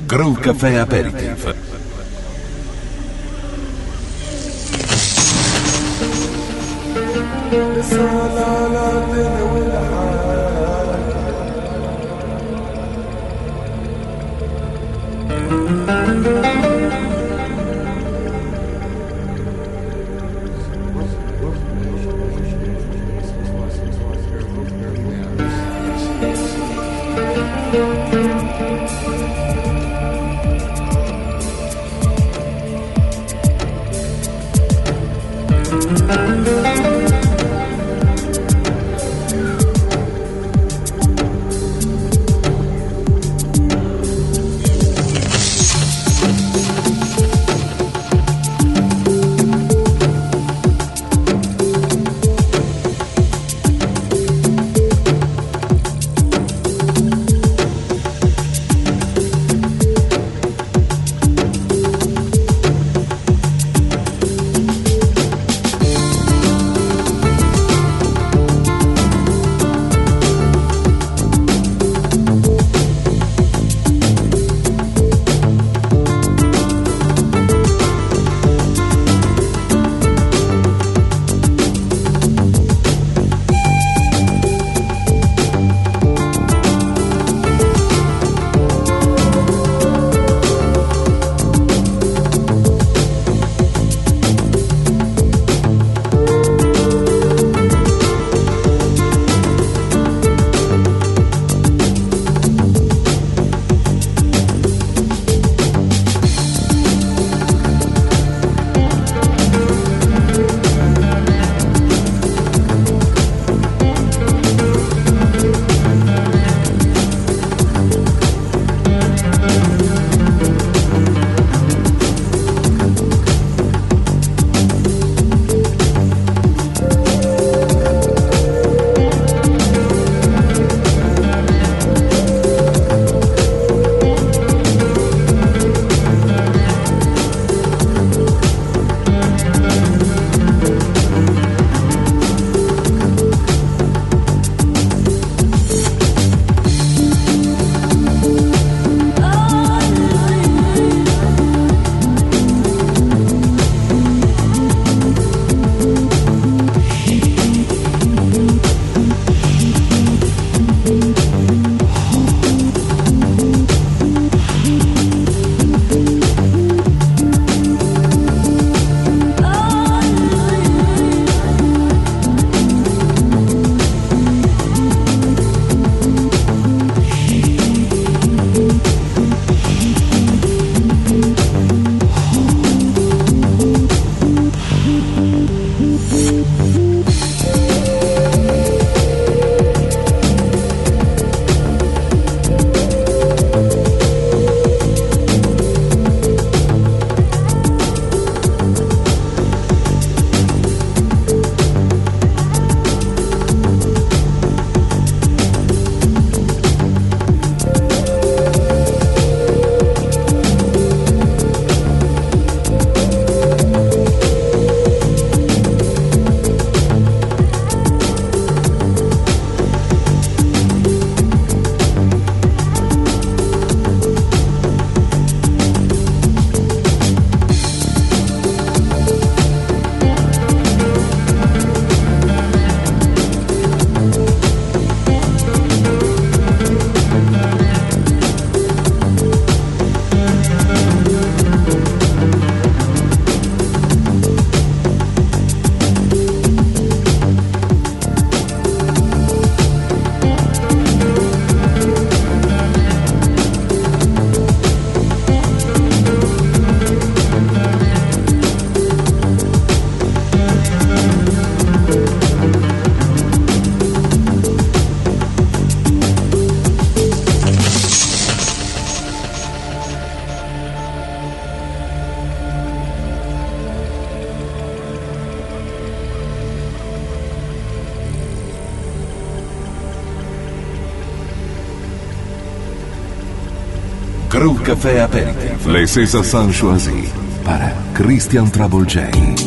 Groove Café Aperitif. Groove Café Aperitif. Les Césars choisis para Christian Travolgei.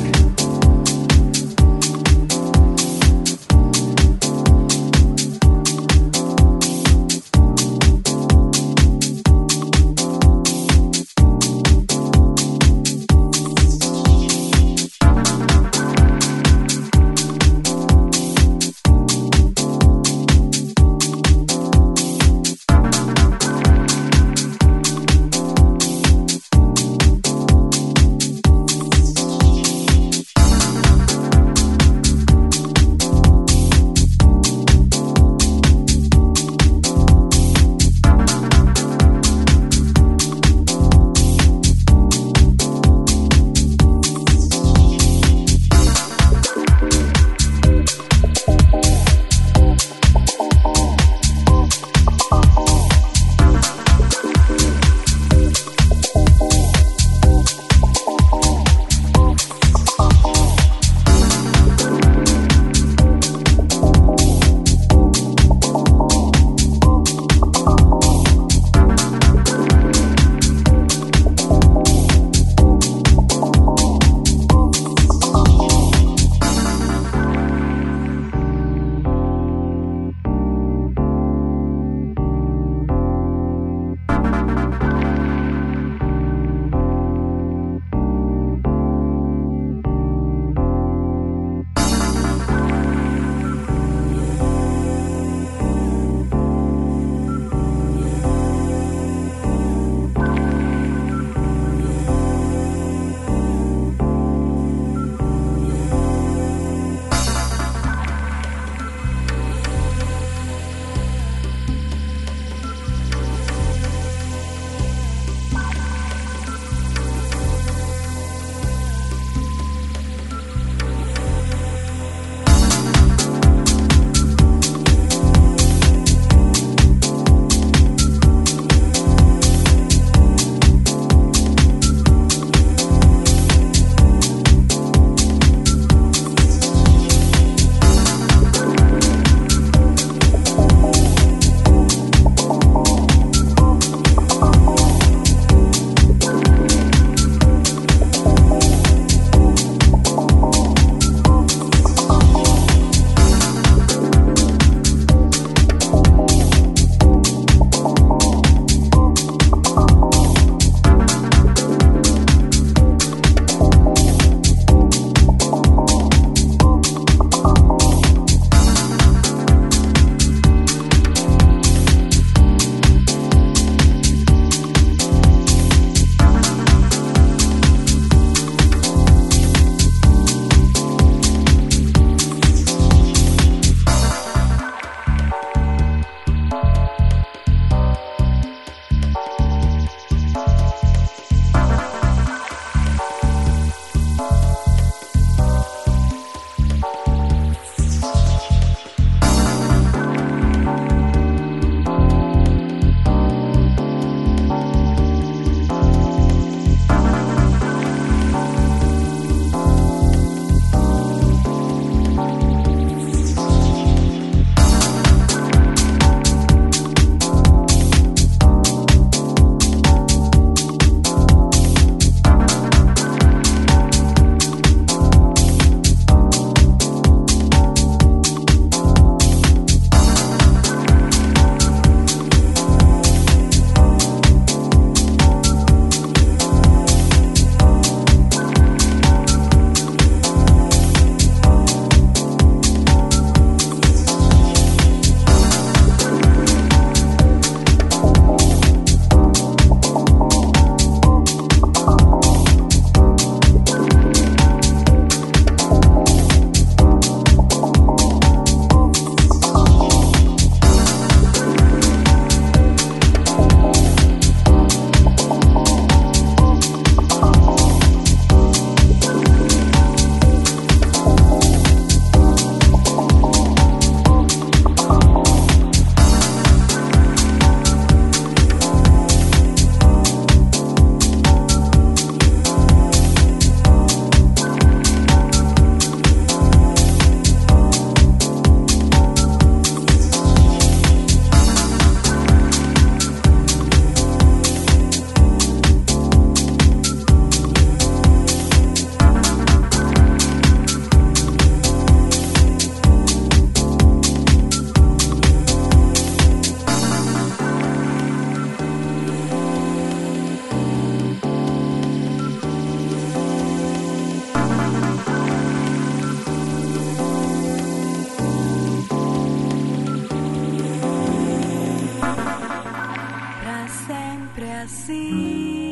assim.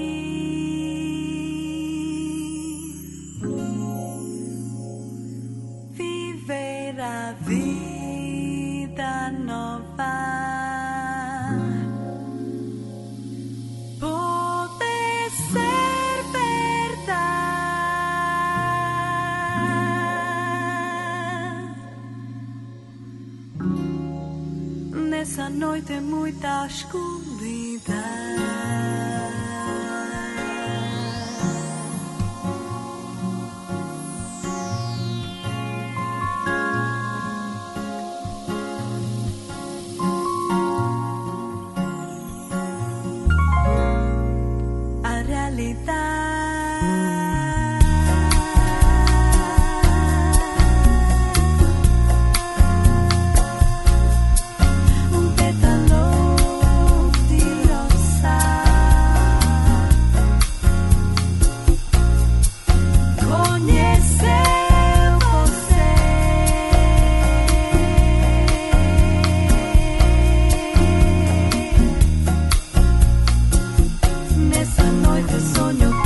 Viver a vida nova. Pode ser verdade. Nessa noite muita escuridão. Nessa noite sonho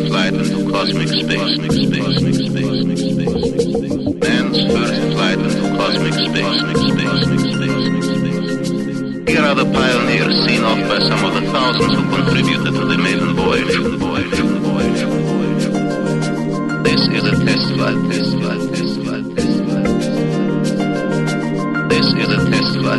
flight into cosmic space. Man's first flight into cosmic space. Here are the pioneers seen off by some of the thousands who contributed to the maiden voyage. This is a test flight. This is a test flight.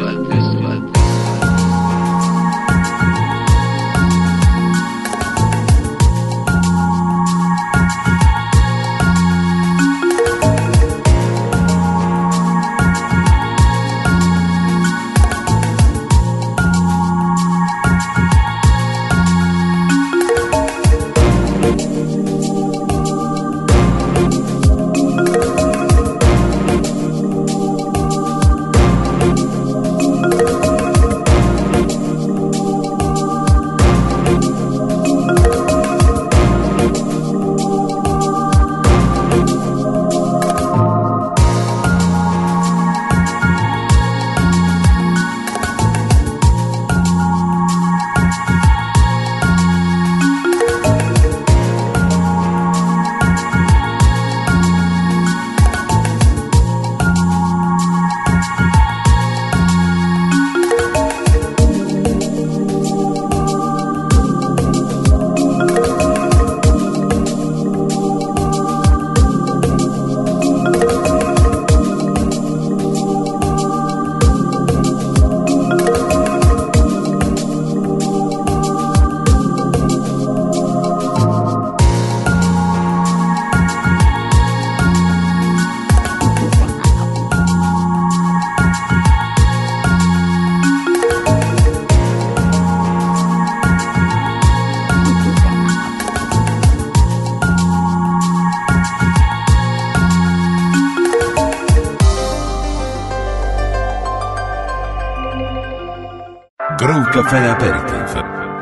Groove Café Aperitif.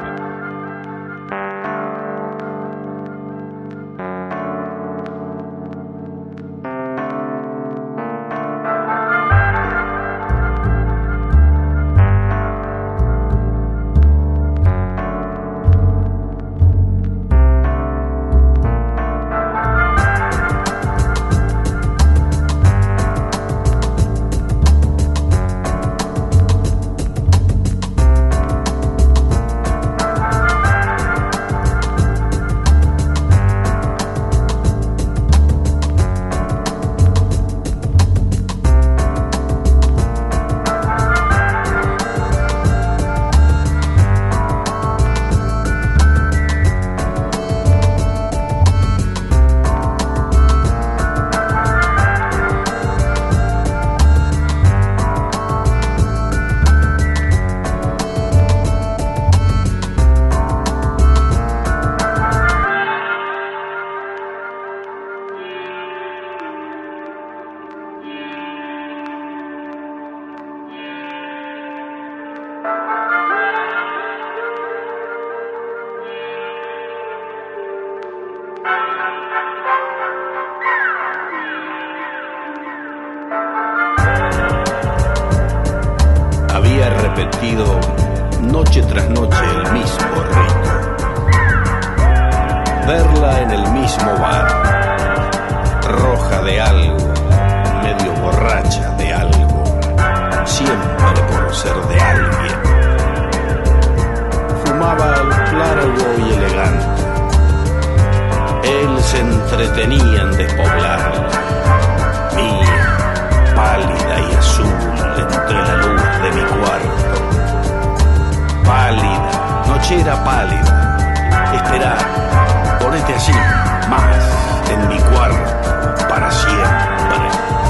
Repetido noche tras noche el mismo rito, verla en el mismo bar, roja de algo, medio borracha de algo, siempre por ser de alguien. Fumaba largo y elegante, él se entretenía en despoblarla, mía, pálida y azul entre la luz de mi cuarto. Pálida, nochera pálida. Esperá, ponete así, más, en mi cuarto, para siempre.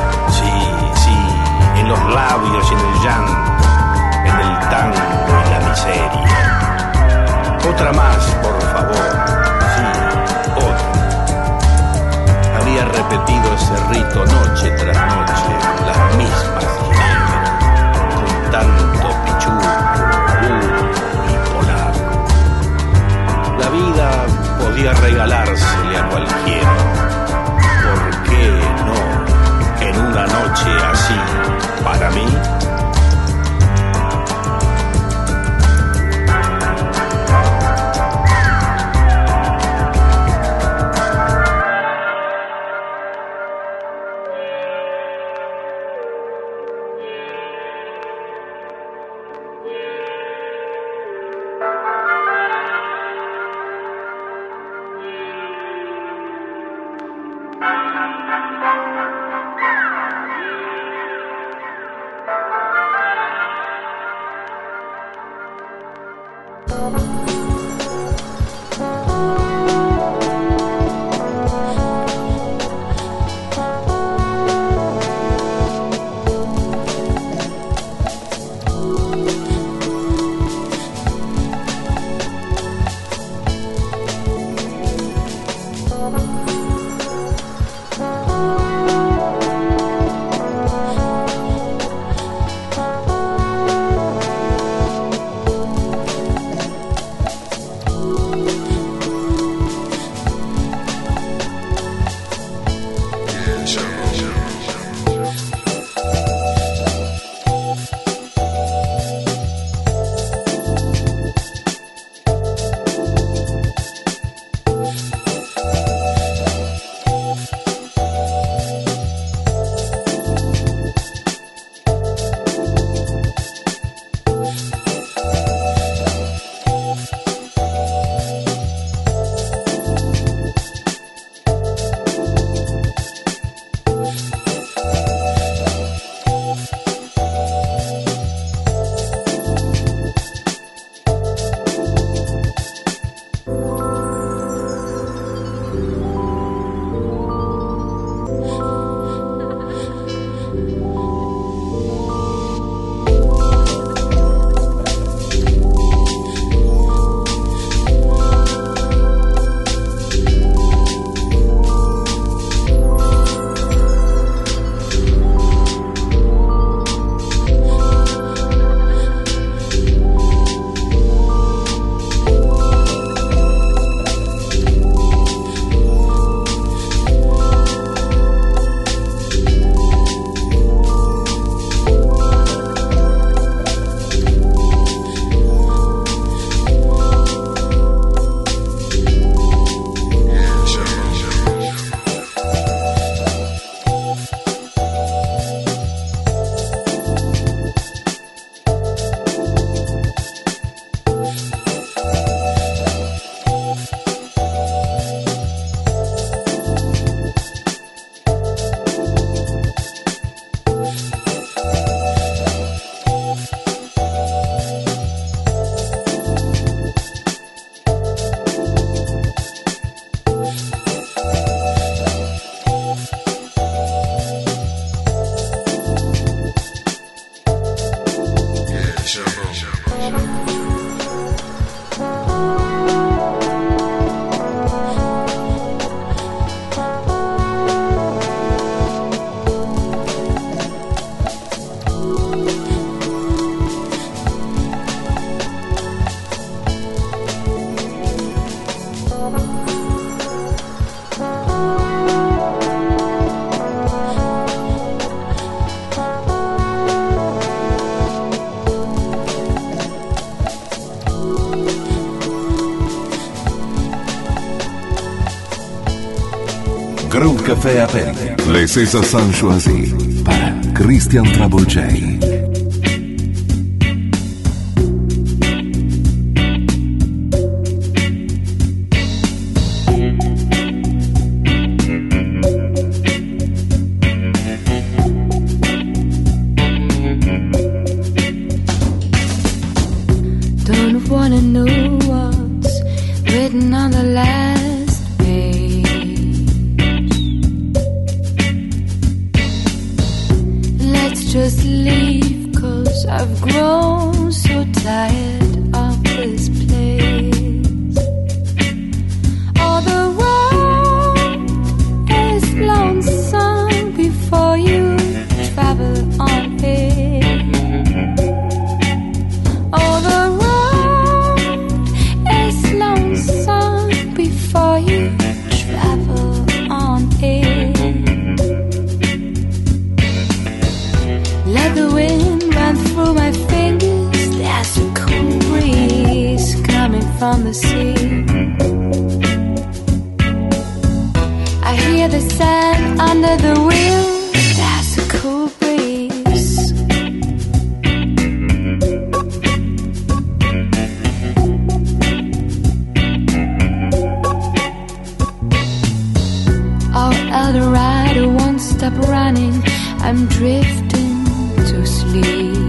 Sí, en los labios y en el llanto, en el tango y la miseria. Otra más, por favor. Sí, otra. Había repetido ese rito noche tras noche, las mismas ginebras, con tanto pichuco, y polaco. La vida podía regalársele a cualquiera. ¿Por qué no en una noche así, para mí? Groove Café Aperitif. Les César sont choisis para Christian Trouble J. Don't wanna know what's written on the last page. Let's just leave, 'cause I've grown so tired of this place. All the road is lonesome before you travel on it. All the road is lonesome before you travel on it. Let the wind run through my fingers. There's a cool breeze coming from the sea. I hear the sand under the wheels. There's a cool breeze. Eldorado won't stop running. I'm drifting to sleep.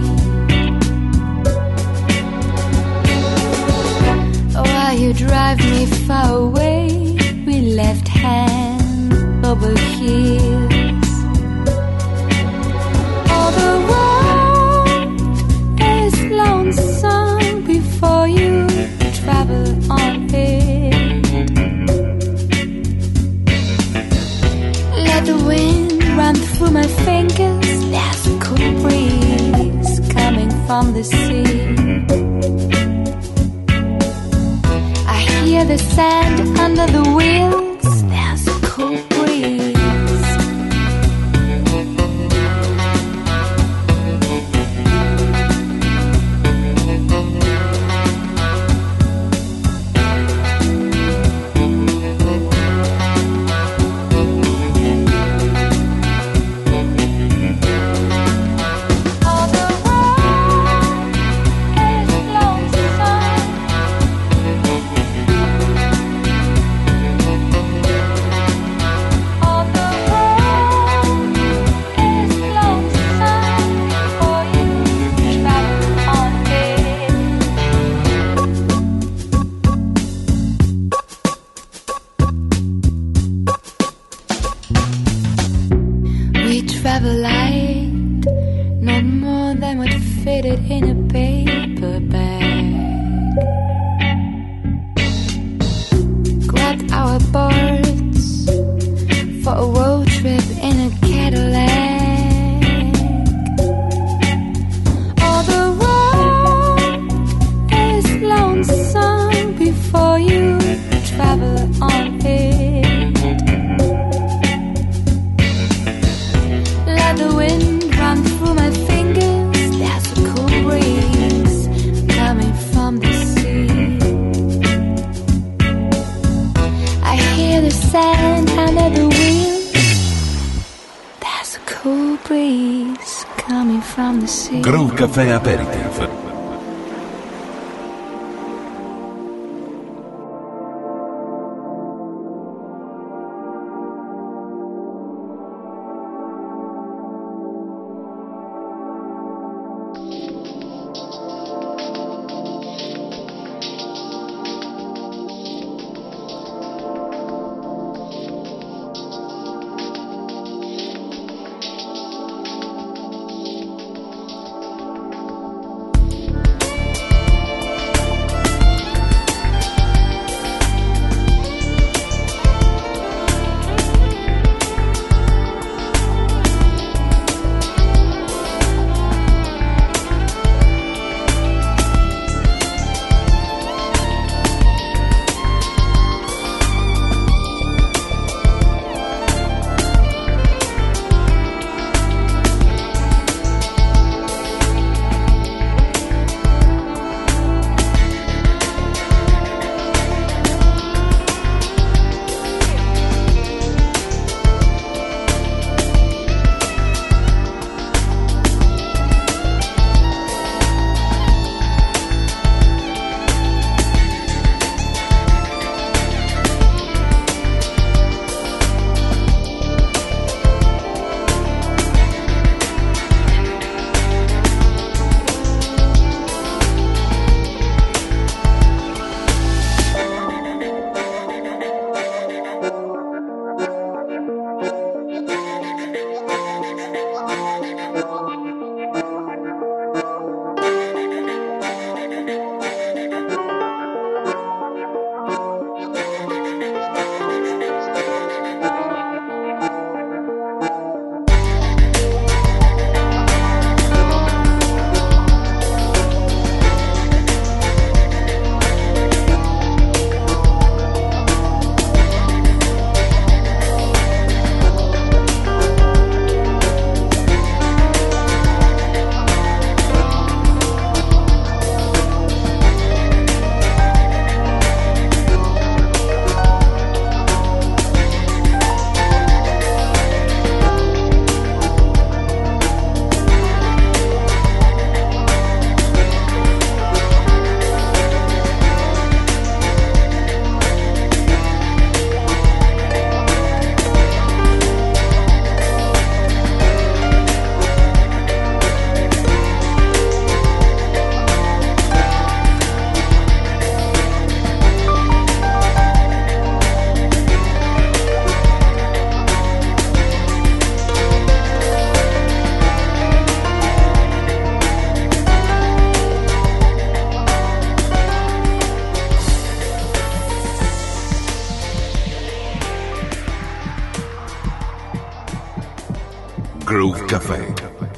While you drive me far away, we left hand over heels. All the road is lonesome before you travel on it. Let the wind run through my fingers. There's a cool breeze coming from the sea. I hear the sand under the wheels. There's a cool breeze. Travel light, not more than what fitted in a paper bag. Grabbed our boards for a road trip in a Cadillac. All the road is lonesome before you travel on it. Let the wind run through my fingers. There's a cool breeze coming from the sea. I hear the sand under the wheels. There's a cool breeze coming from the sea. Groove Café Aperitif. Groove Café.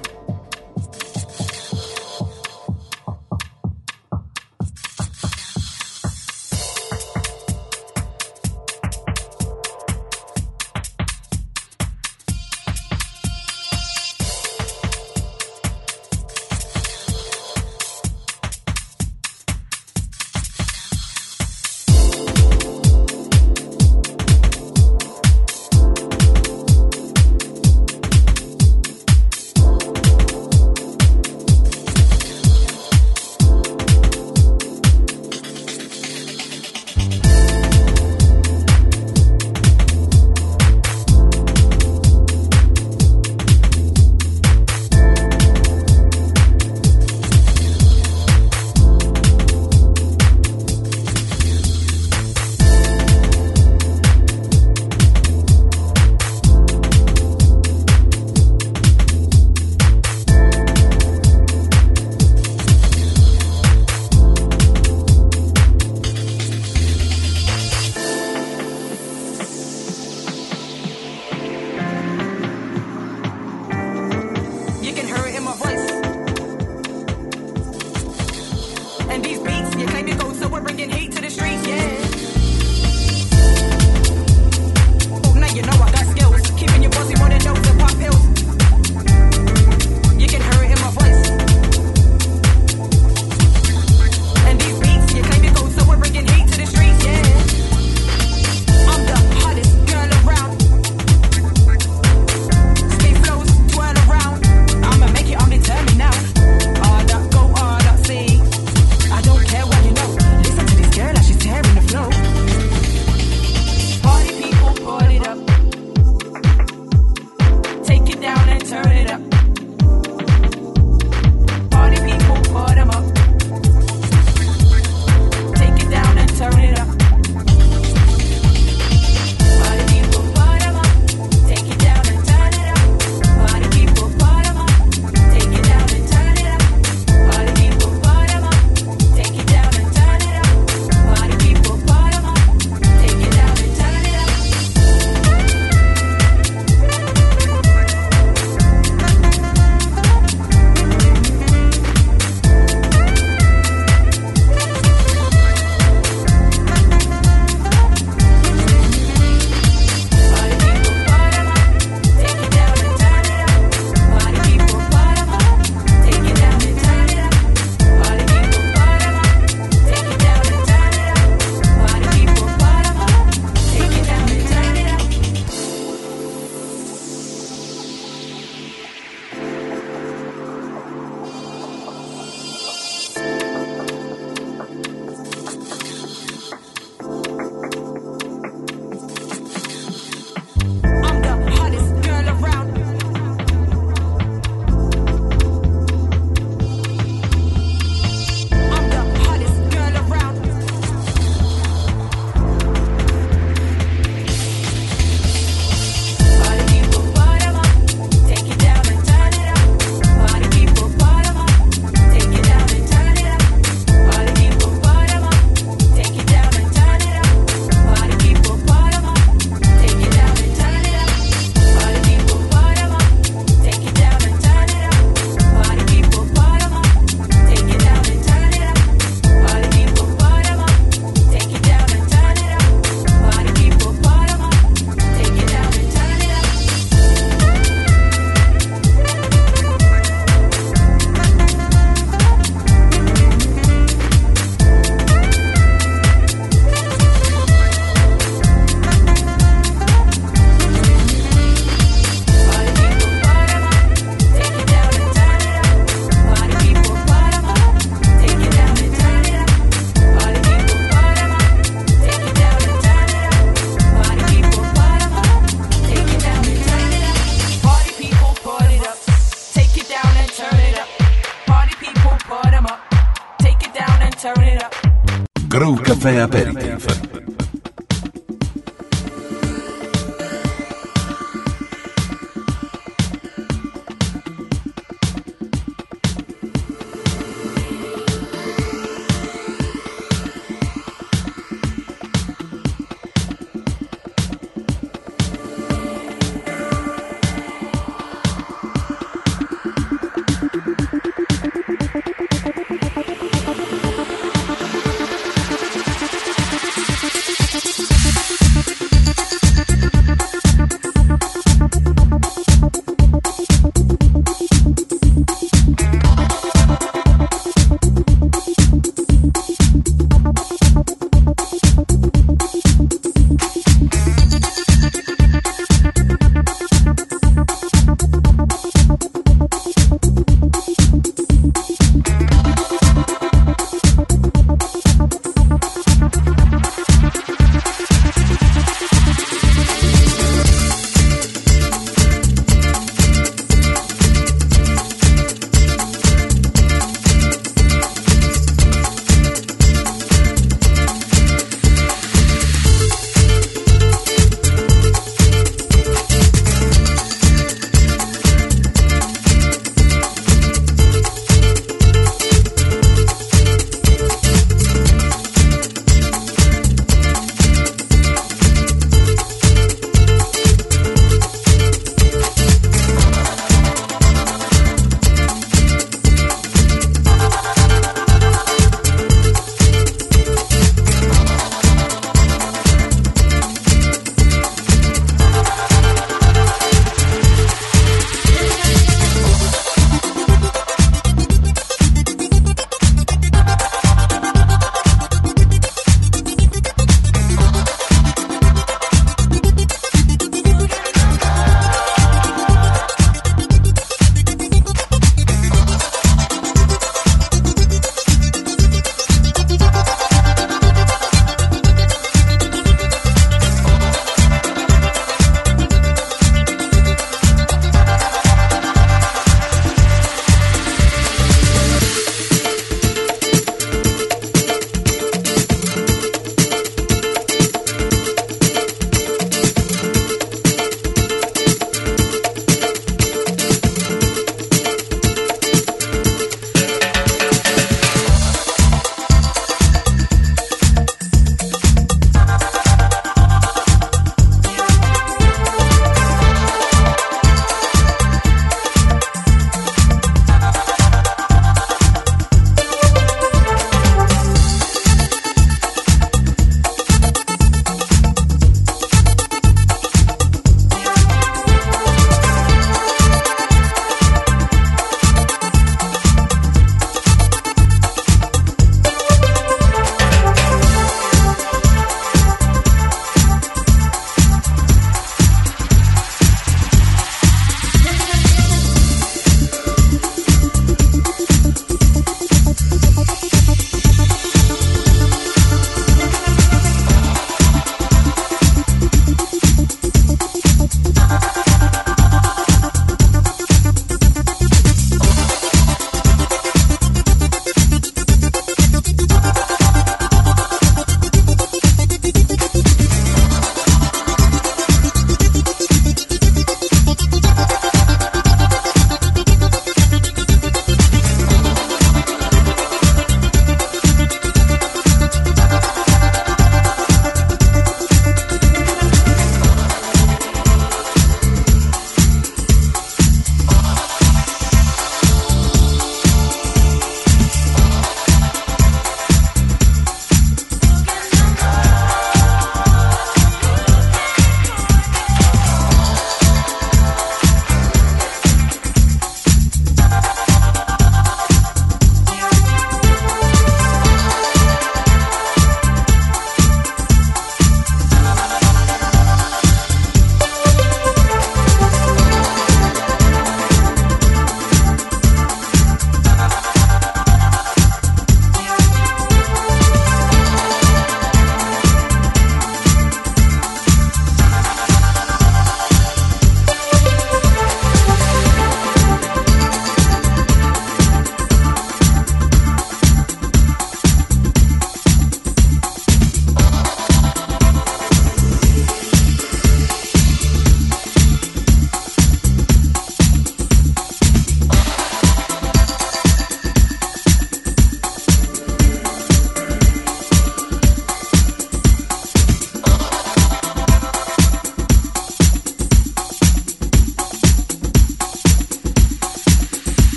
Groove Café Aperitif.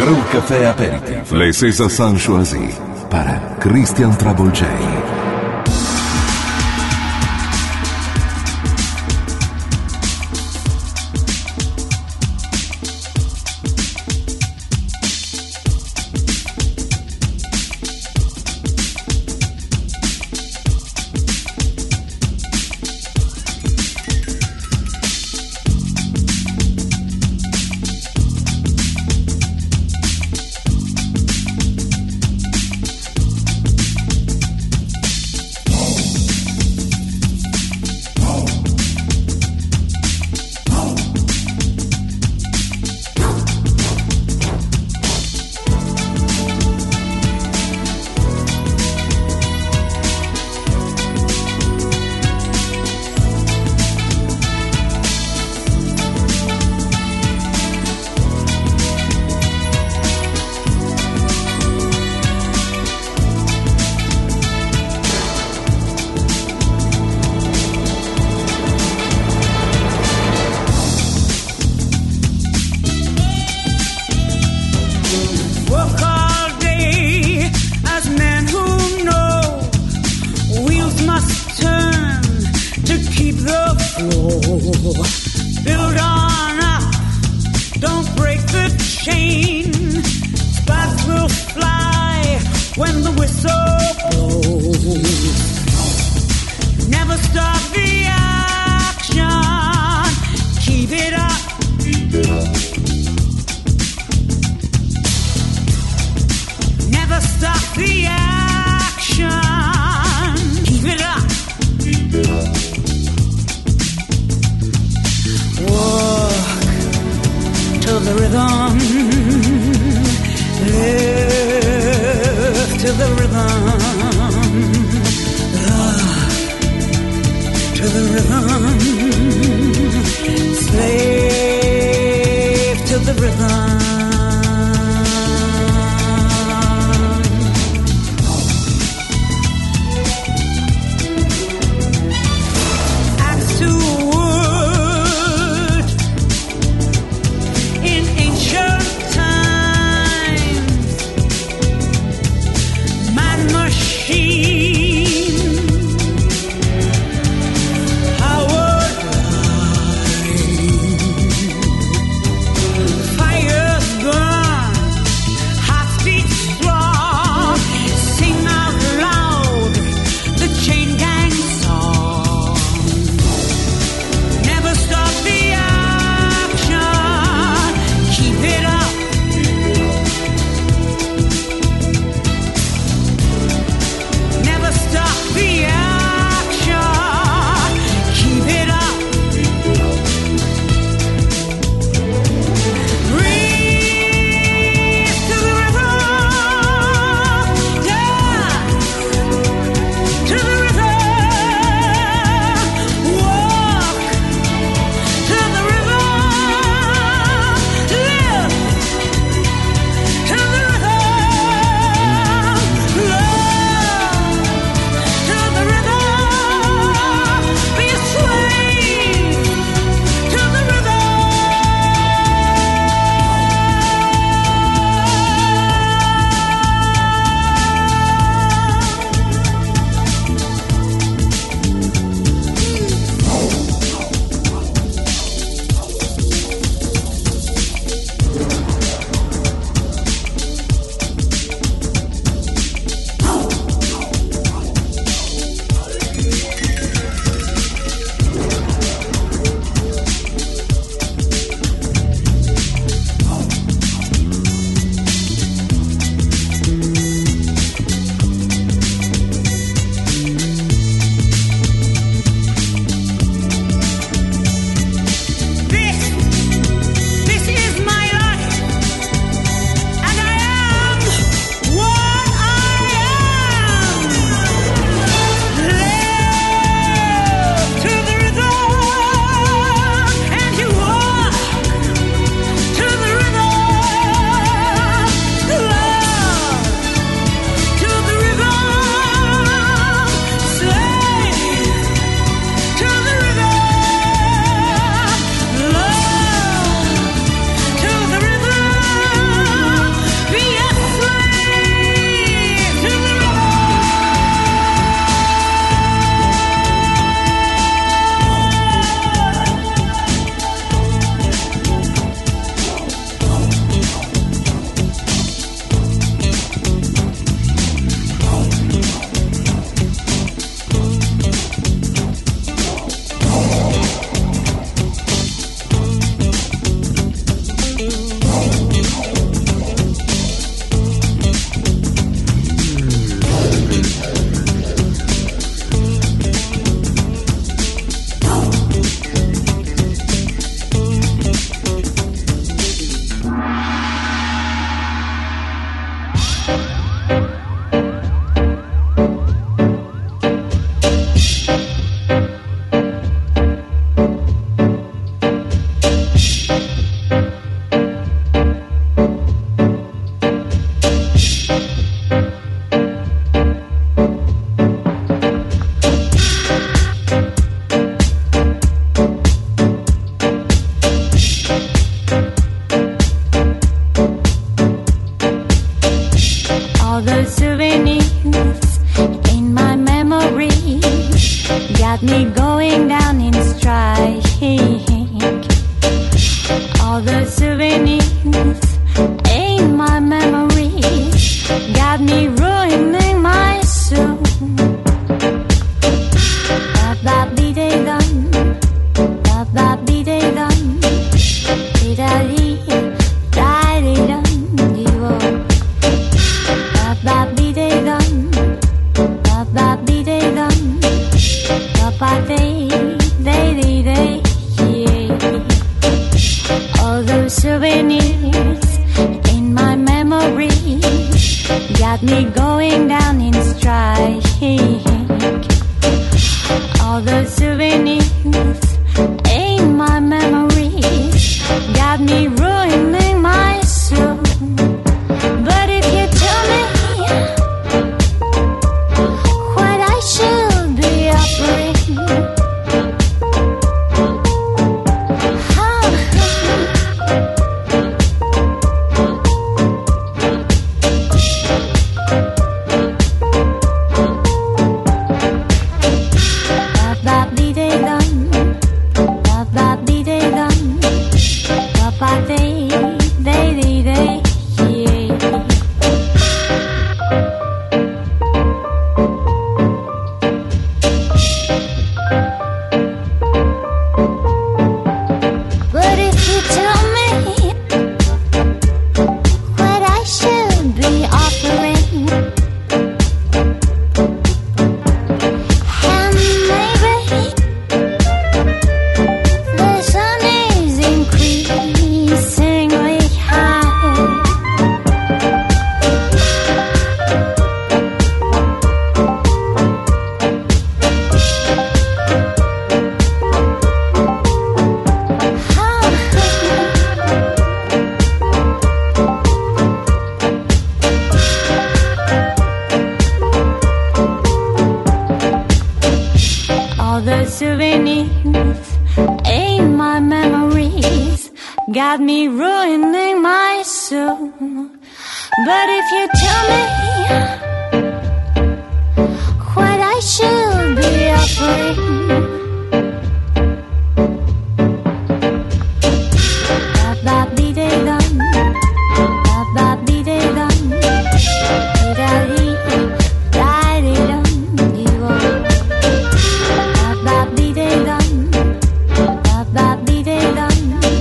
Crew Café Aperitif. Les César San Choisi. Para Christian Travolgei. Machine, how got me going down in strike. All the souvenirs in my memory got me ruining my soul. Ba-ba-dee-dee-dum, ba-ba-dee-dee-dum, dee-da-dee-da-dee-dum, dee-wo. Ba-ba-dee-dee-dum, ba-ba-dee-dee-dum, ba-ba-dee-dee-dee-dee, yeah. All those souvenirs in my memory got me going down in strike. All the souvenirs in my memory got me ruining my soul. But if you tell me what I should be offering, got me ruining my soul. But if you tell me what I should be offering, ba-ba-dee-dee-dum, ba-ba-dee-dee-dum, dee-da-dee-da-dee-dum, dee-wo. Ba-ba-dee-dee-dum, ba-ba-dee-dee-dum,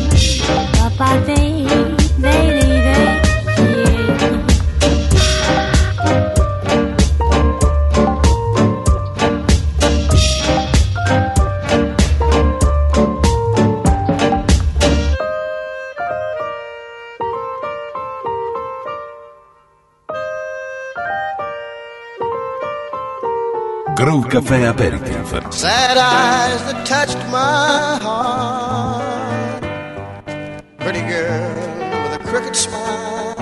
Groove Café Aperitif. Sad eyes that touched my heart, pretty girl with a crooked smile.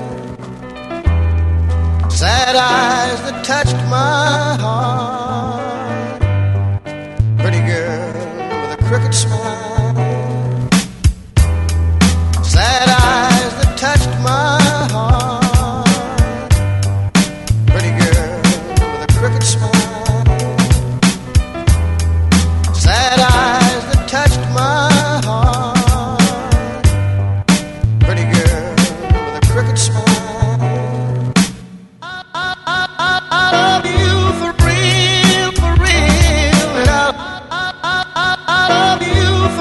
Sad eyes that touched my heart, pretty girl with a crooked smile. Sad eyes that touched my heart, pretty girl with a crooked smile. Sad eyes that touched my heart, pretty girl with a crooked smile. I love you for real, and I love you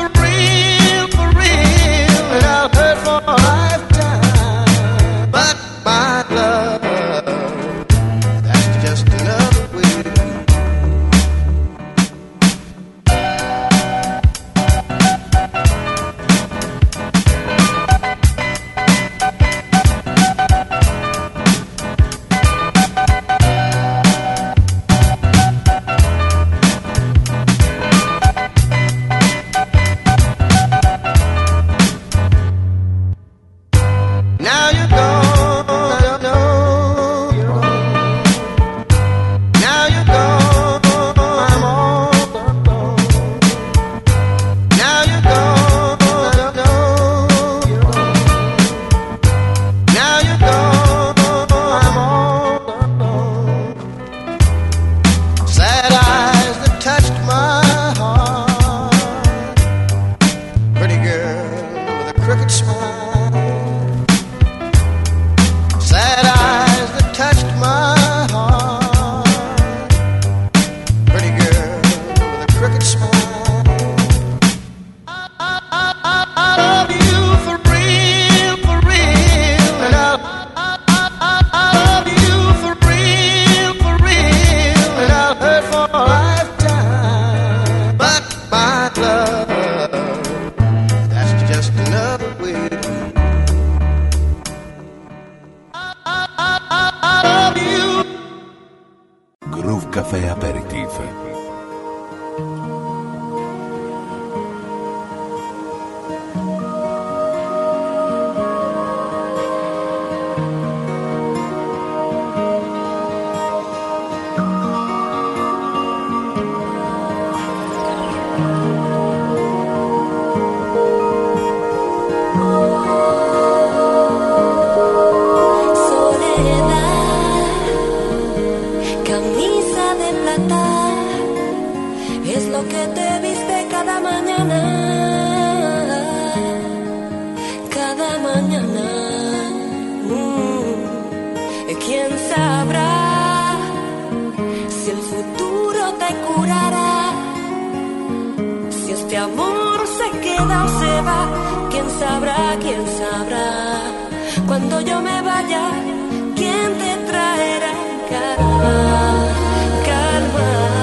que te viste cada mañana, cada mañana. ¿Quién sabrá si el futuro te curará? Si este amor se queda o se va, ¿quién sabrá, quién sabrá? Cuando yo me vaya, ¿quién te traerá calma, calma?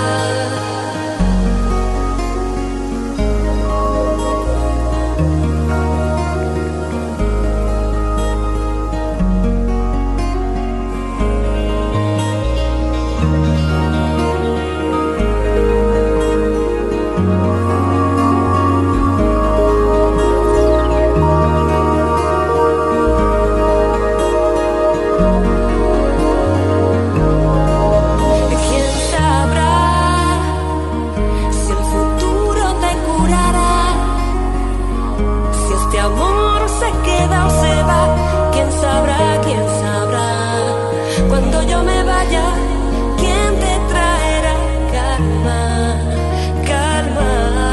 Cuando yo me vaya, ¿quién te traerá calma, calma?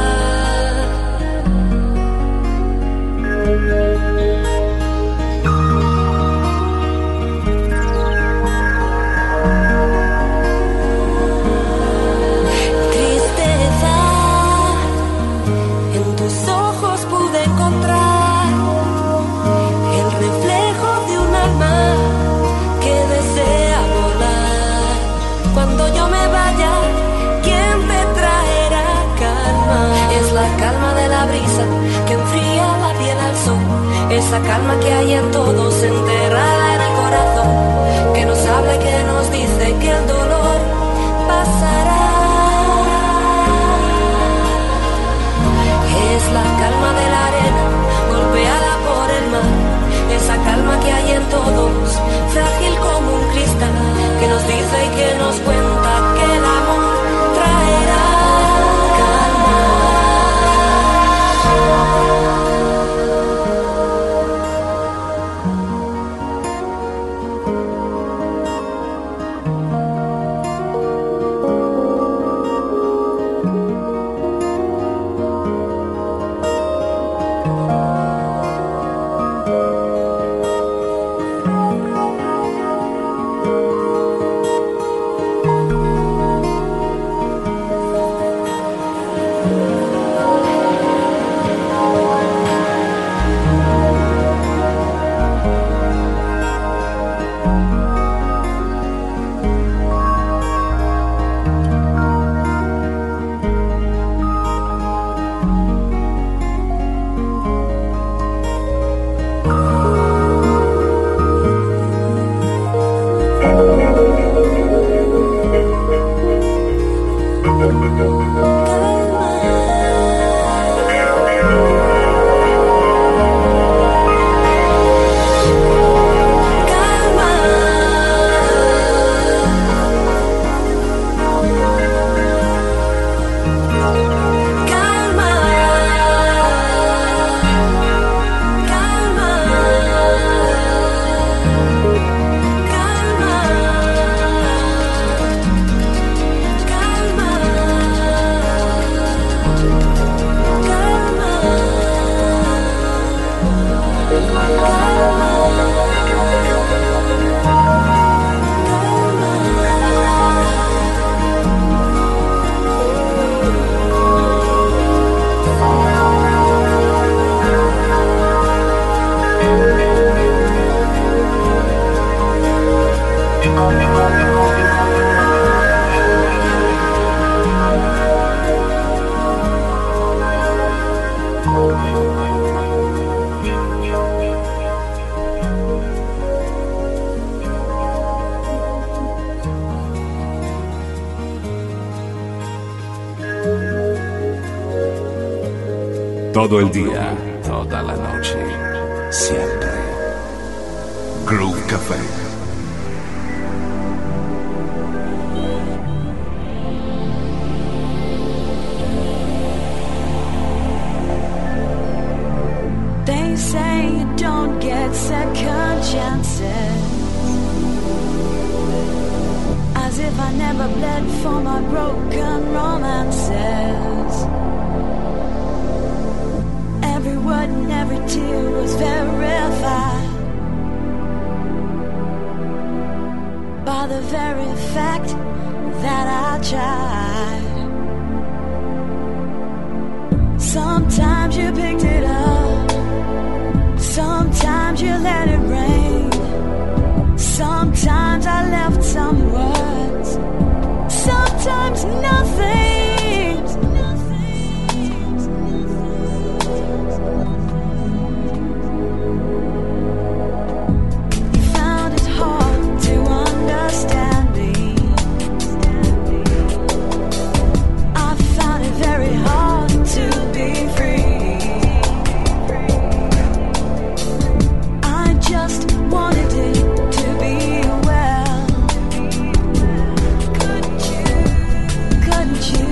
Tristeza, en tus ojos pude encontrar el reflejo de un alma que desea volar. Cuando yo me vaya, ¿quién te traerá calma? Es la calma de la brisa que enfría la piel al sol. Esa calma que hay en todos, enterrada en el corazón, que nos habla y que nos dice que el dolor pasará. Es la calma de la arena golpeada por el mar. Esa calma que hay en todos, frágil como un cristal, que nos dice y que nos cuenta que el amor traerá calma. Todo el día, toda la noche, siempre. Groove Café. They say you don't get second chances, as if if I never bled for my broken romances? Every word and every tear was verified by the very fact that I tried. Sometimes you picked it up, sometimes you let it rain, sometimes I left some words, sometimes nothing. You found it hard to understand me. I found it very hard to be free. I just wanted it to be well. Couldn't you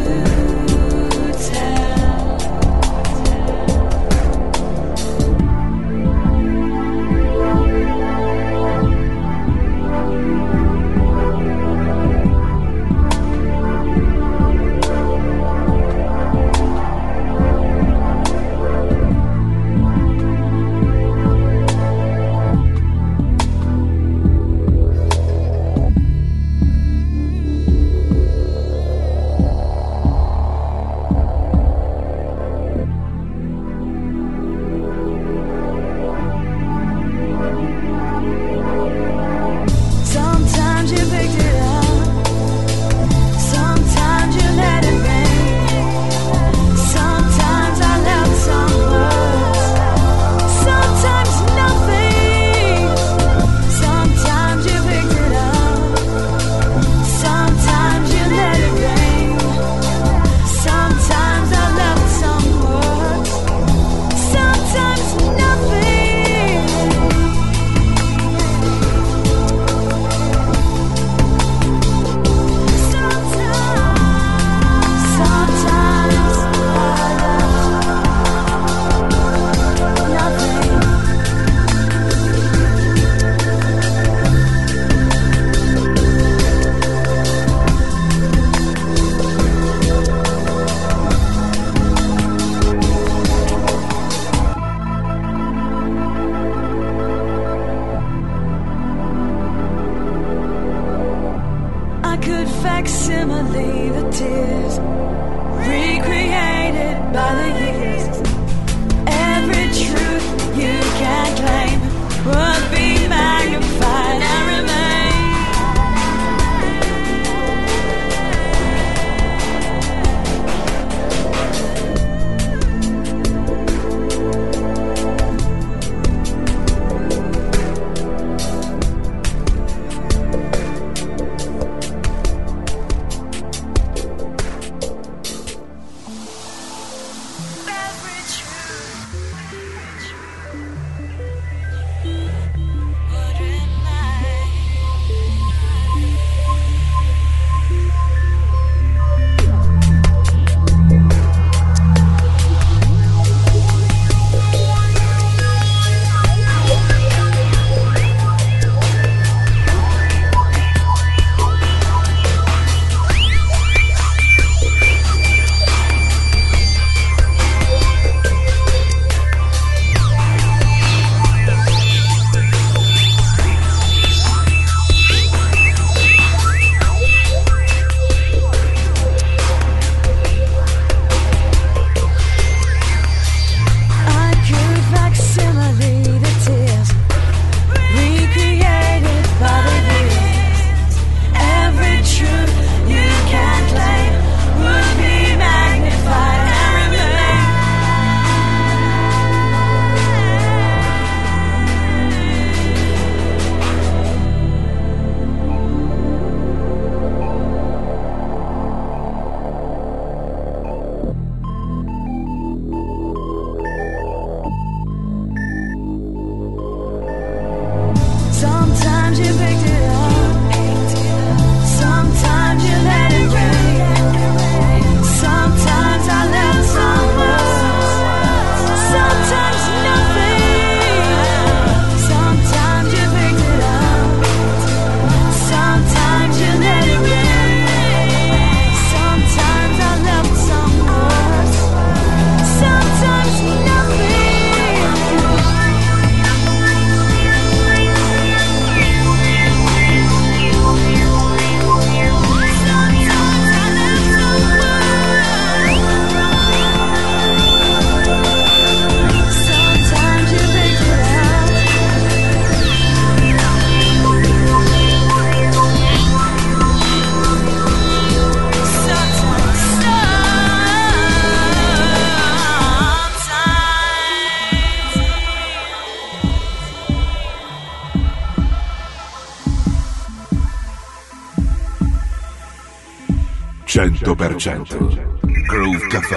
100% Groove Café.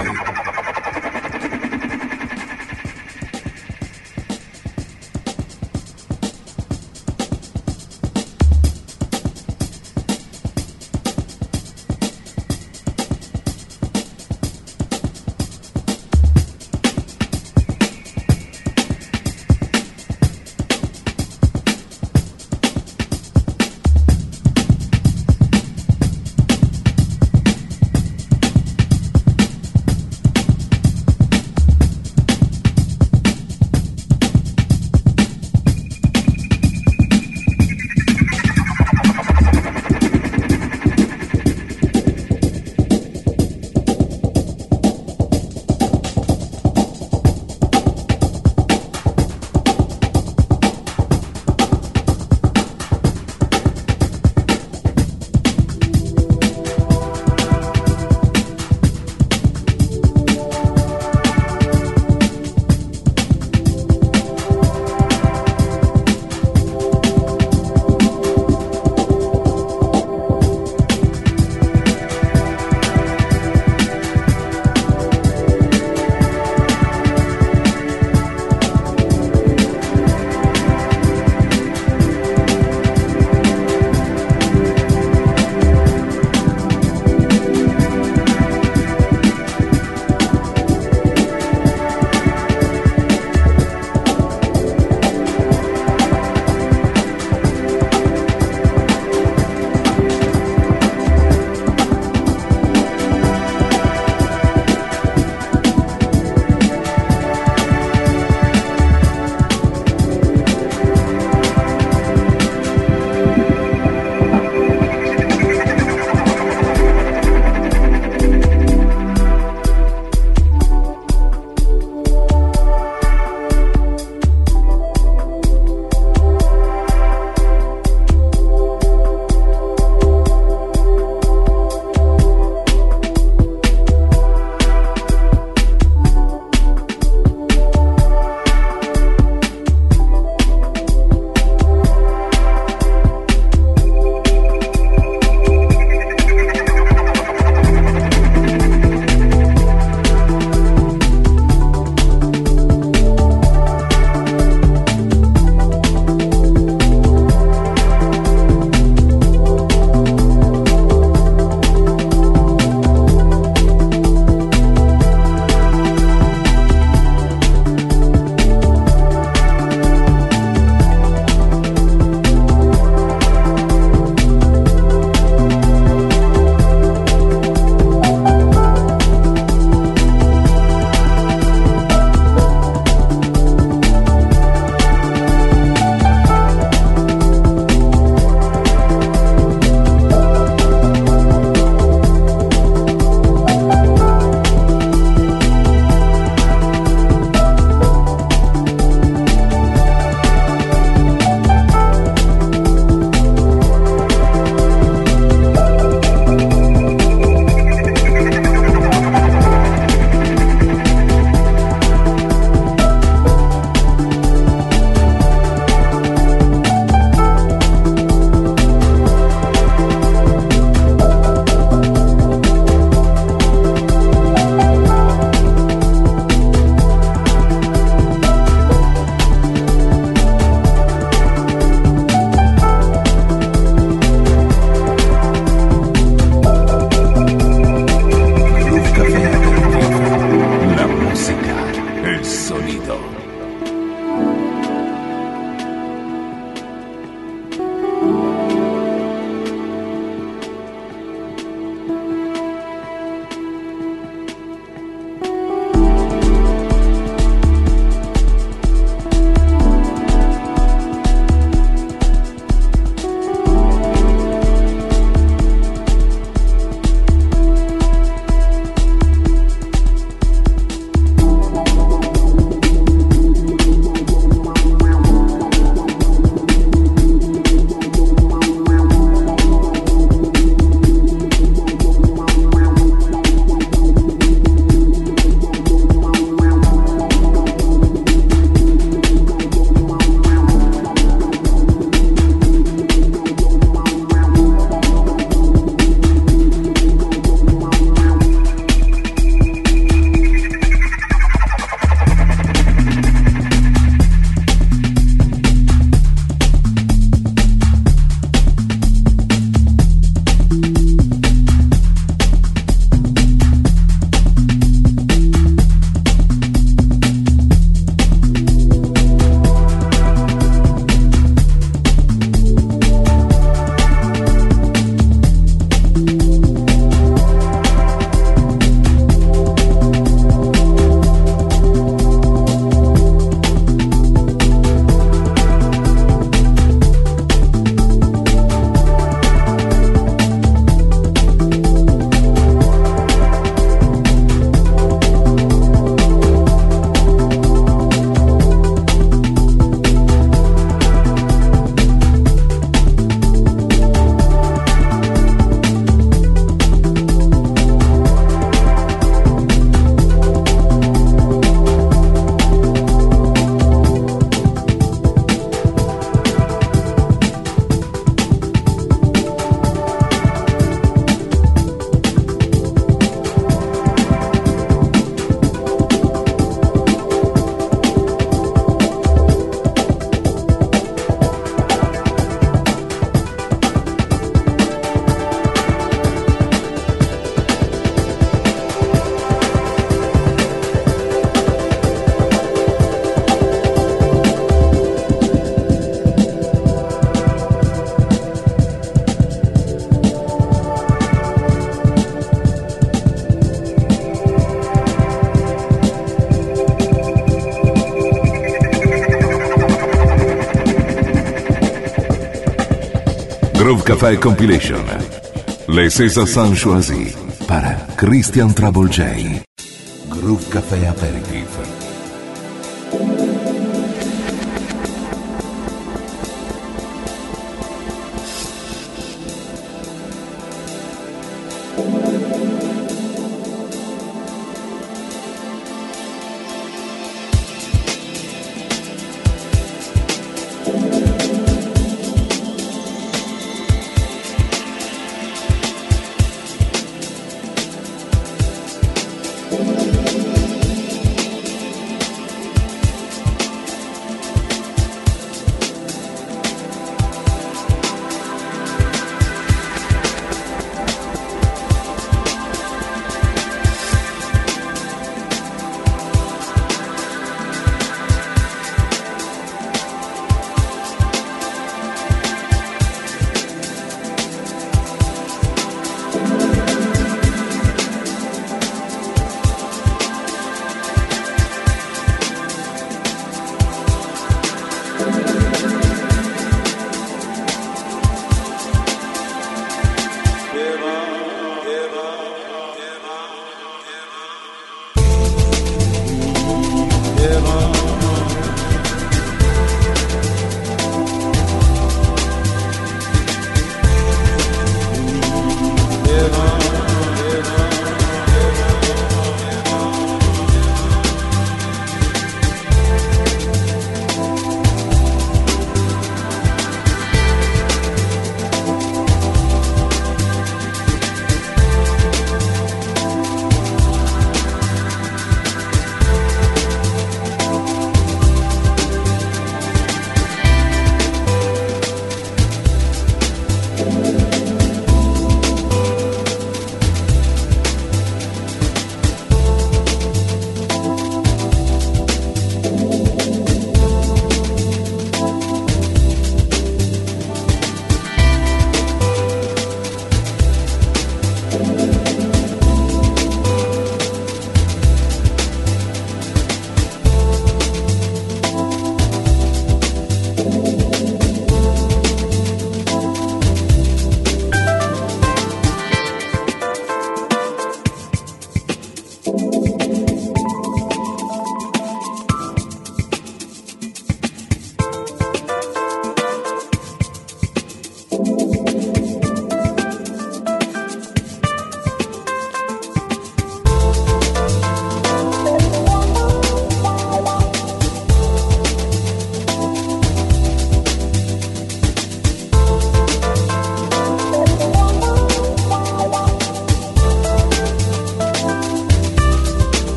Groove Café Compilation. Les César Sanchoisi para Christian Trouble J. Groove Café Aperitif.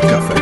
Café.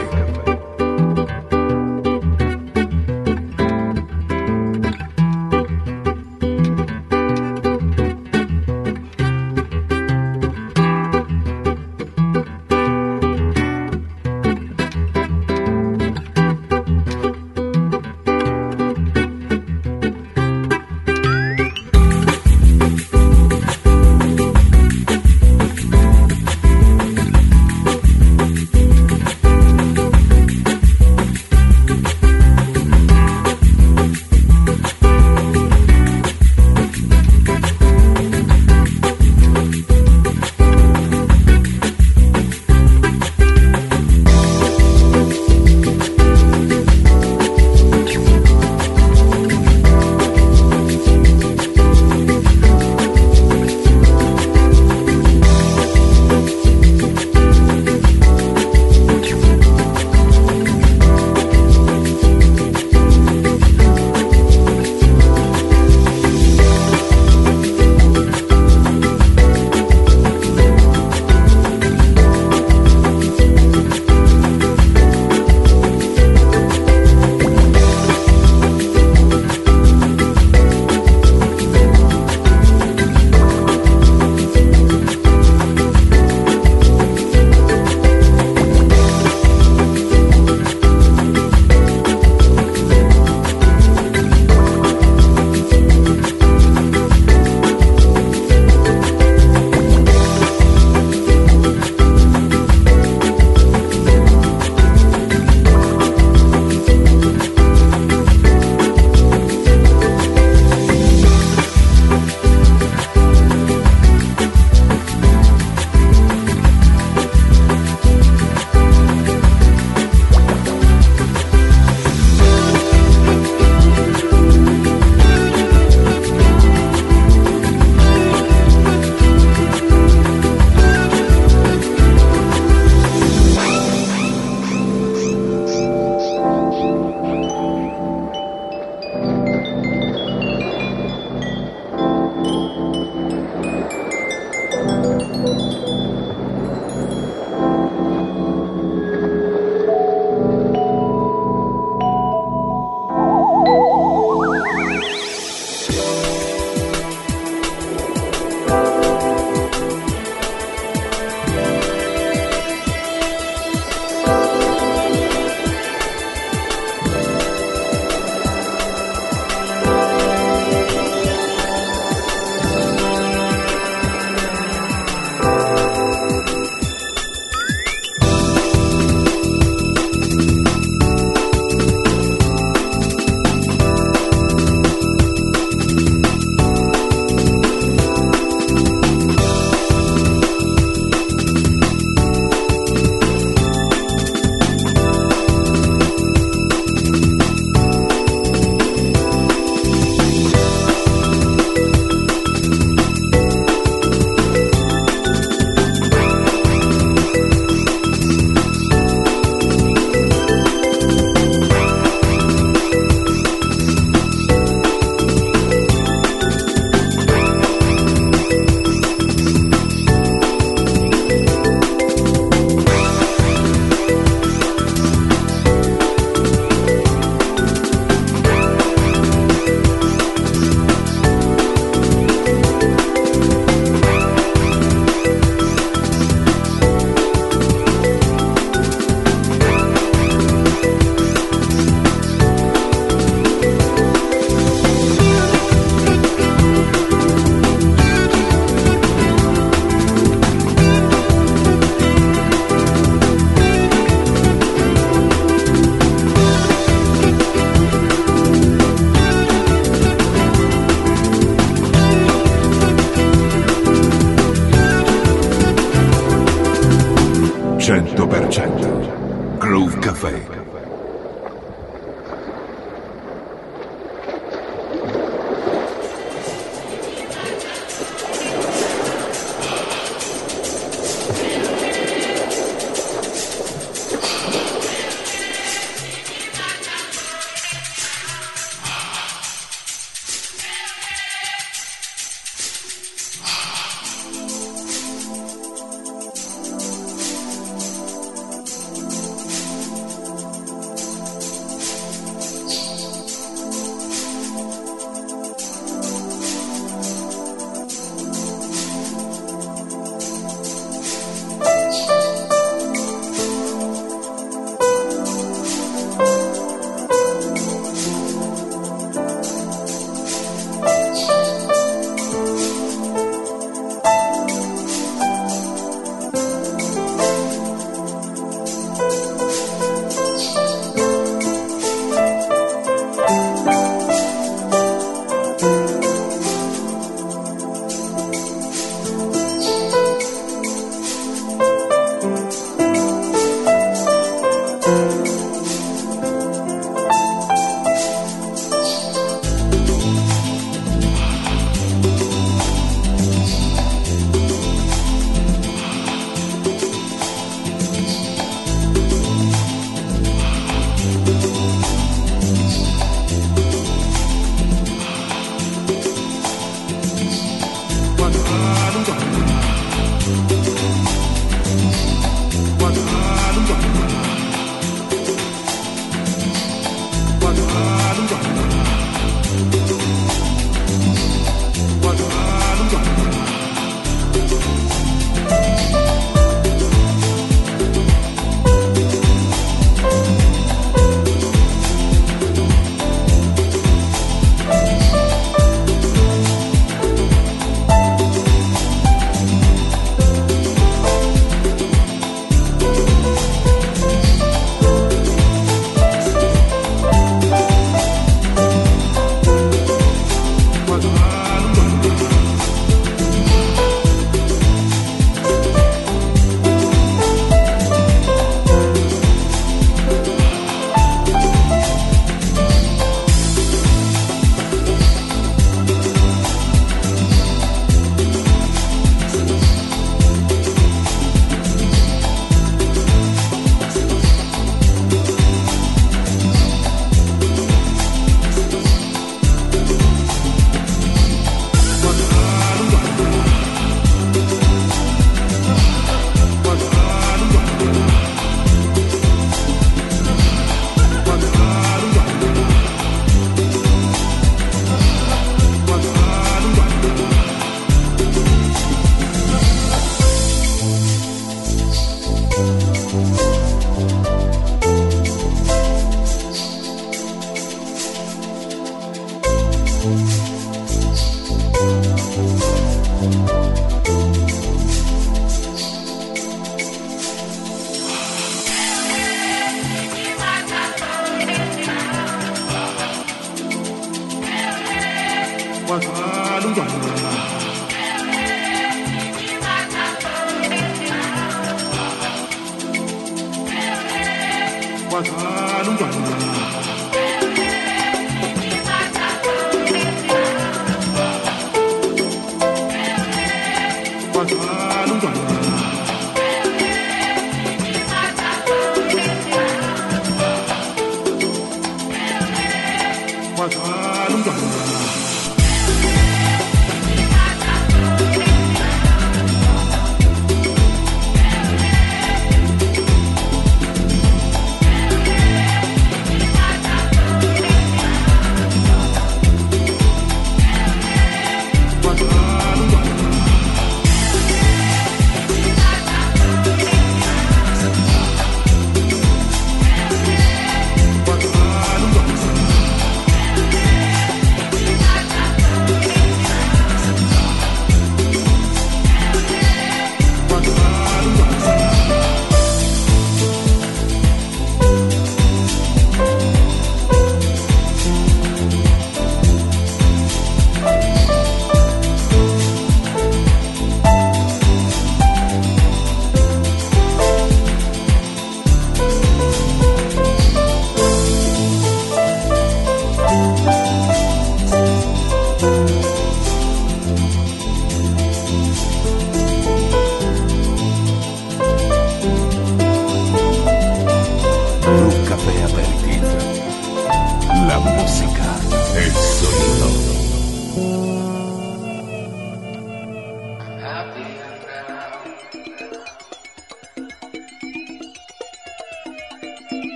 Groove Café.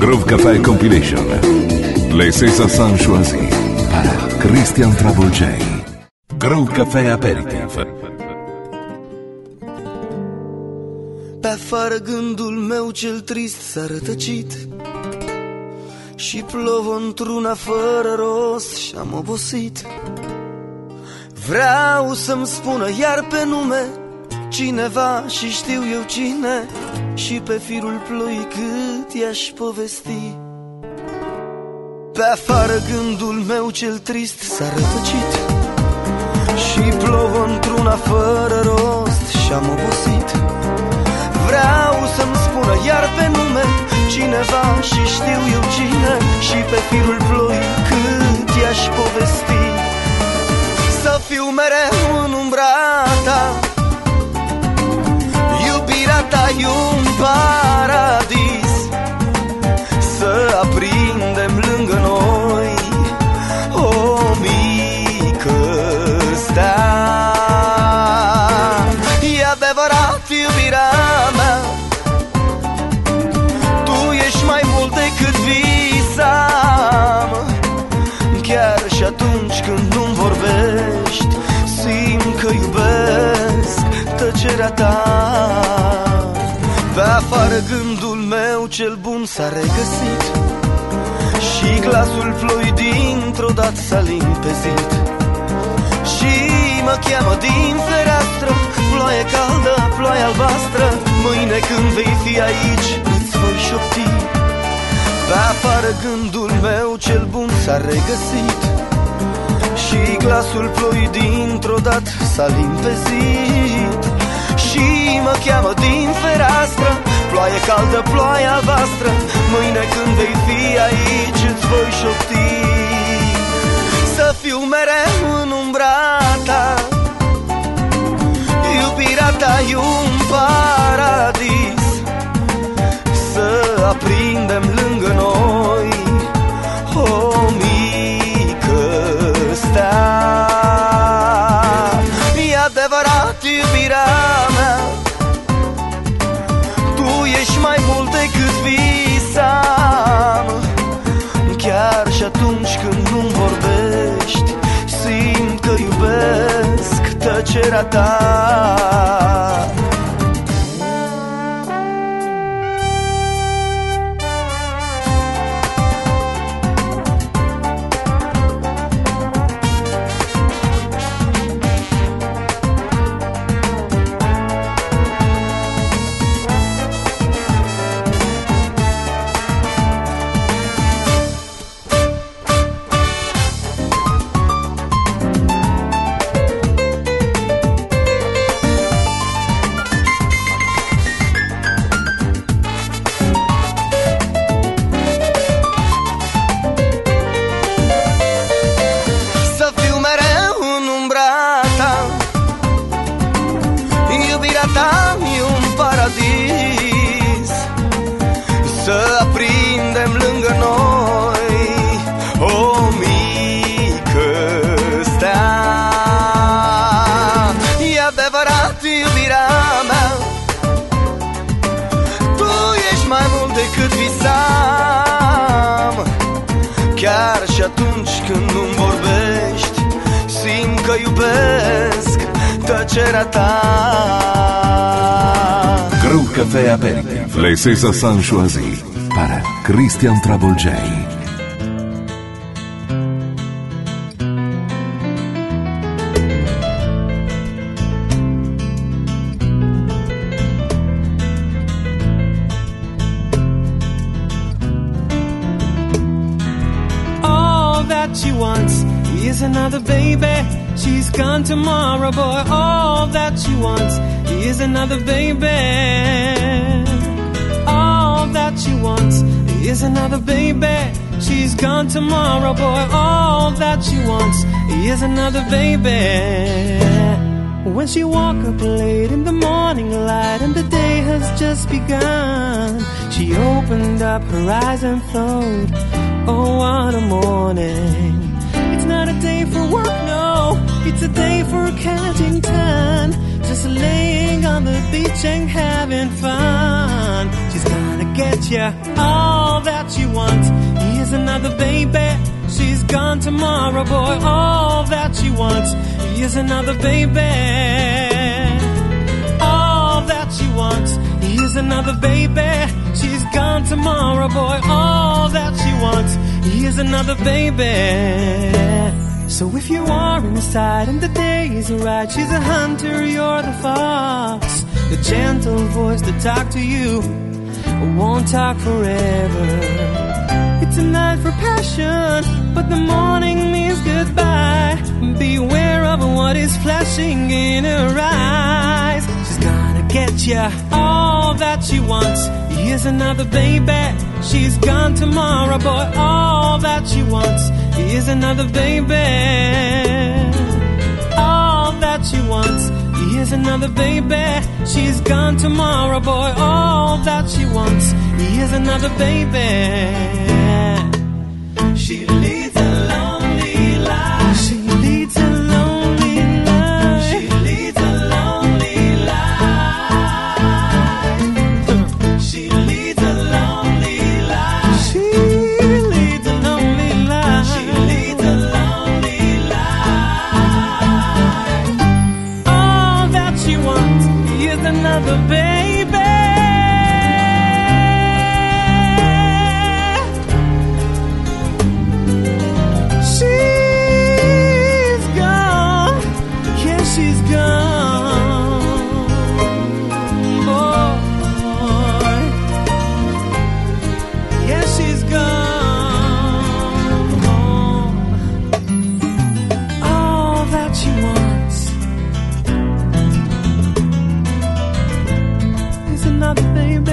Groove Café Compilation. Les César Sanchoisi para Christian Travolgei. Groove Café Aperitif. Pe afară gândul meu cel trist s-a rătăcit și plouă într-una fără rost și-am obosit. Vreau să-mi spună iar pe nume cineva și știu eu cine, și pe firul ploii cât i-aș povesti. Pe afară gândul meu cel trist s-a rătăcit și plouă într-una fără rost și-am obosit. Vreau să-mi spună iar pe nume cineva și știu eu cine, și pe firul ploii cât i-aș povesti. Să fiu mereu în umbra ta, iubirea ta e un paradis, să aprindem lângă noi o mică stea. E adevărat, iubirea mea, tu ești mai mult decât visam. Chiar și atunci când nu-mi vorbești, simt că iubesc tăcerea ta. Pe afară gândul meu cel bun s-a regăsit și glasul ploii dintr-o dată s-a limpezit. Și mă cheamă din fereastră, ploaie caldă, ploaie albastră, mâine când vei fi aici îți voi șopti. Pe afară gândul meu cel bun s-a regăsit și glasul ploii dintr-o dată s-a limpezit. Și mă cheamă din fereastră, ploaie caldă, ploaie albastră, mâine când vei fi aici îți voi șopti. Să fiu mereu în umbra ta, iubirea ta e un paradis, să aprindem lângă noi o mică stea. E adevărat, iubirea mea, tu ești mai mult decât visam. Chiar și atunci când nu-mi vorbești, simt că iubesc tăcerea ta. Să aprindem lângă noi o mică stea. E adevărat, iubirea mea, tu ești mai mult decât visam. Chiar și atunci când nu-mi vorbești, simt că iubesc tăcerea ta. Groove Café Aperitif. Les César Sanchoisi para Christian Travolgei. All that she wants is another baby. She's gone tomorrow, boy. All that she wants is another baby. All that she wants is another baby. She's gone tomorrow, boy. All that she wants is another baby. When she woke up late in the morning light and the day has just begun, she opened up her eyes and thought, oh, what a morning. It's not a day for work, no. It's a day for counting time, just laying on the beach and having fun. She's gonna get you all that you want. Here's another baby, she's gone tomorrow, boy, all that you want. Here's another baby, all that you want. Here's another baby, she's gone tomorrow, boy, all that you want. Here's another baby. So if you are inside and the days are right, she's a hunter, you're the fox. The gentle voice that talk to you won't talk forever. It's a night for passion, but the morning means goodbye. Beware of what is flashing in her eyes. She's gonna get you all that she wants. Here's another baby, she's gone tomorrow, boy, all that she wants. Here's another baby, all that she wants. Here's another baby, she's gone tomorrow, boy, all that she wants. Here's another baby. She leads a lonely life. She leads a lonely life. She leads a lonely life. She leads a lonely life. She leads a lonely life. She leads a lonely life. All that she wants is another baby. She's gone, boy. Yeah, she's gone. All that she wants is another baby.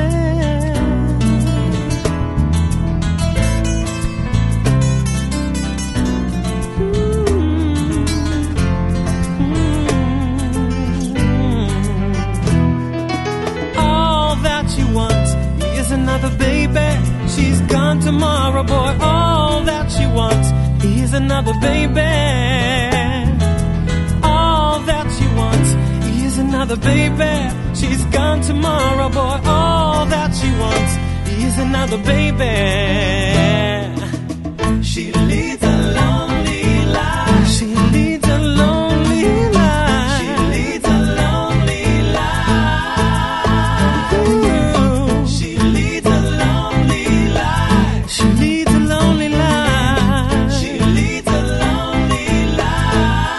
Another baby, she's gone tomorrow, boy, all that she wants. Here's another baby, all that she wants. Here's another baby, she's gone tomorrow, boy, all that she wants. Here's another baby. She leads a lonely life. She leads a lonely life. She leads a lonely life. Ooh. She leads a lonely life. She leads a lonely life. She leads a lonely life.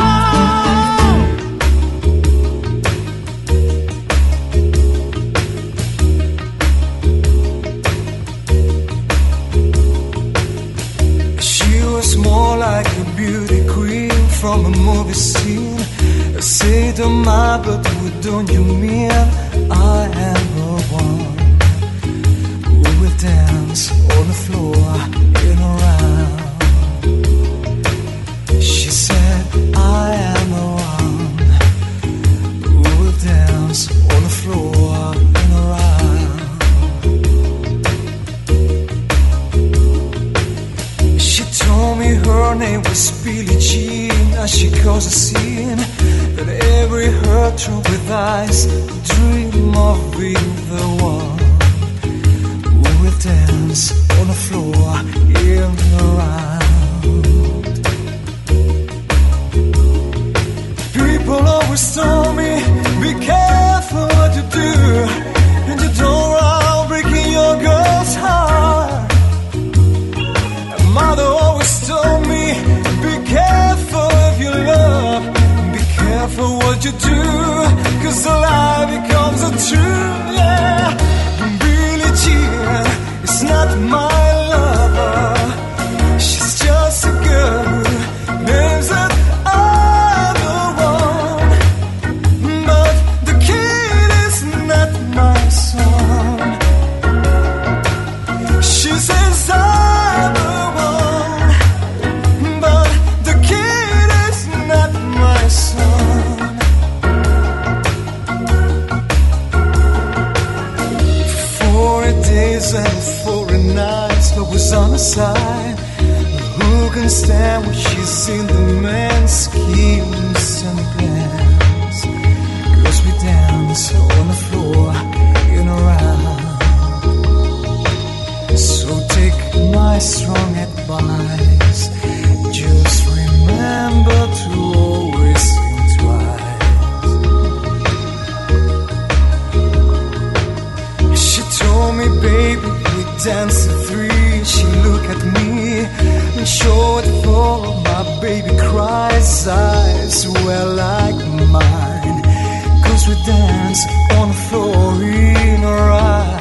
She was more like a beauty queen from a movie scene. I say to my, but what don't you mean? I am the one who will dance on the floor in a round. She said, I am the one who will dance on the floor in a round. She told me her name was Billie Jean. As she caused a scene that every hurt through with eyes dream of being the one who will dance on the floor in the round. People always told me, be careful what you do, and you don't run breaking your girl's heart. And mother always told me, be careful if you love, be careful what you do, 'cause the lie becomes a truth, yeah. Billie Jean is not my lover, she's just a girl who names that I'm the one. But the kid is not my son. She says I'm the one, but the kid is not my son. 40 days and 40 nights, but was on the side. Who can stand when she's seen the man's schemes and plans? 'Cause we dance on the floor in a round. hands on the floor in her eyes.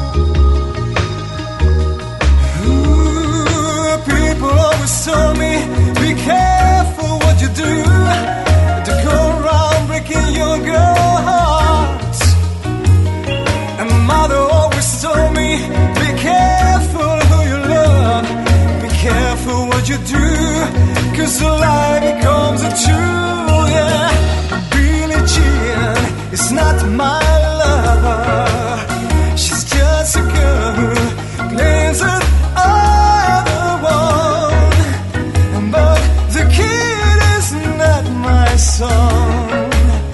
People always tell me, be careful what you do, to go around breaking your girl hearts. And mother always told me, be careful who you love, be careful what you do, 'cause the lie becomes a truth, yeah. Billie Jean is not my lover, she's just a girl who claims that I'm the one, but the kid is not my son.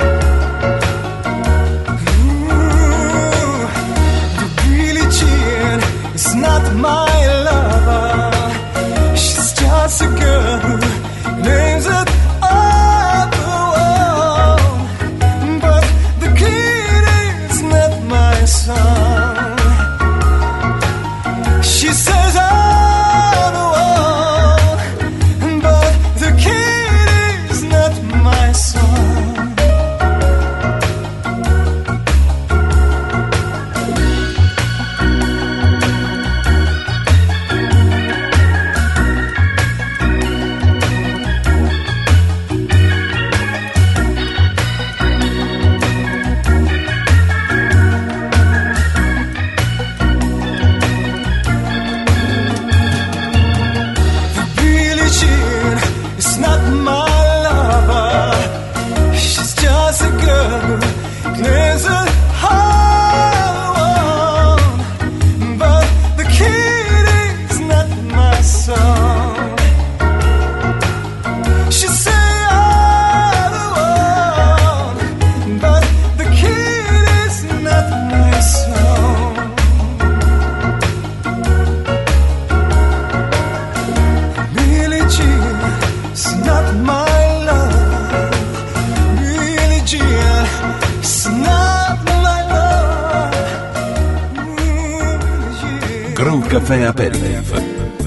Ooh, the Billie Jean is not my lover, she's just a girl who claims that I'm the one, but the kid is not my son. She says I'm the one, but the kid is not my son. Billie Jean is not my lover, she's just a girl who claims that I'm the one, but the kid is not my son. She say I'm the one, but the kid is not my son. Billie Jean is not my love, Billie Jean is not my love. Billie Jean. Groove Café Aperitif.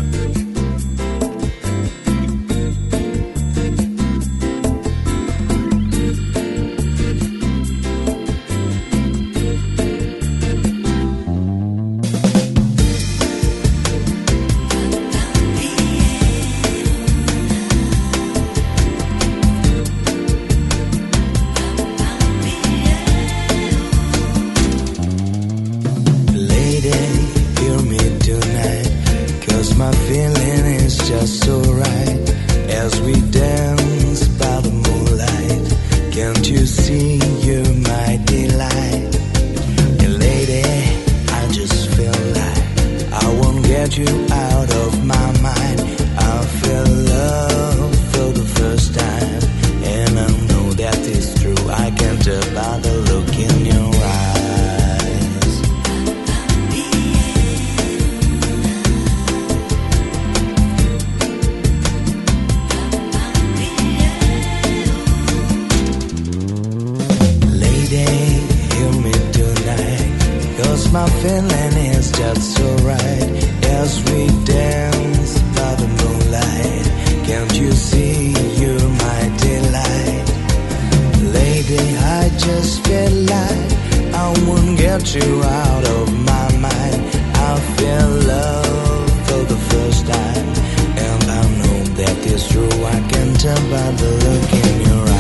Lady, hear me tonight, 'cause my feeling is just so right. As we dance by the moonlight, can't you see you're my delight? And lady, I just feel like I won't get you out of my mind. I feel love for the first time, and I know that is true. I can tell by the look in your eyes. Lady, hear me tonight, 'cause my feeling is just so right. As we dance by the moonlight, can't you see you're my delight? Lady, I just feel like I won't get you out of my mind. I feel love for the first time, and I know that is true. I can tell by the look in your eyes.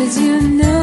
'cause you know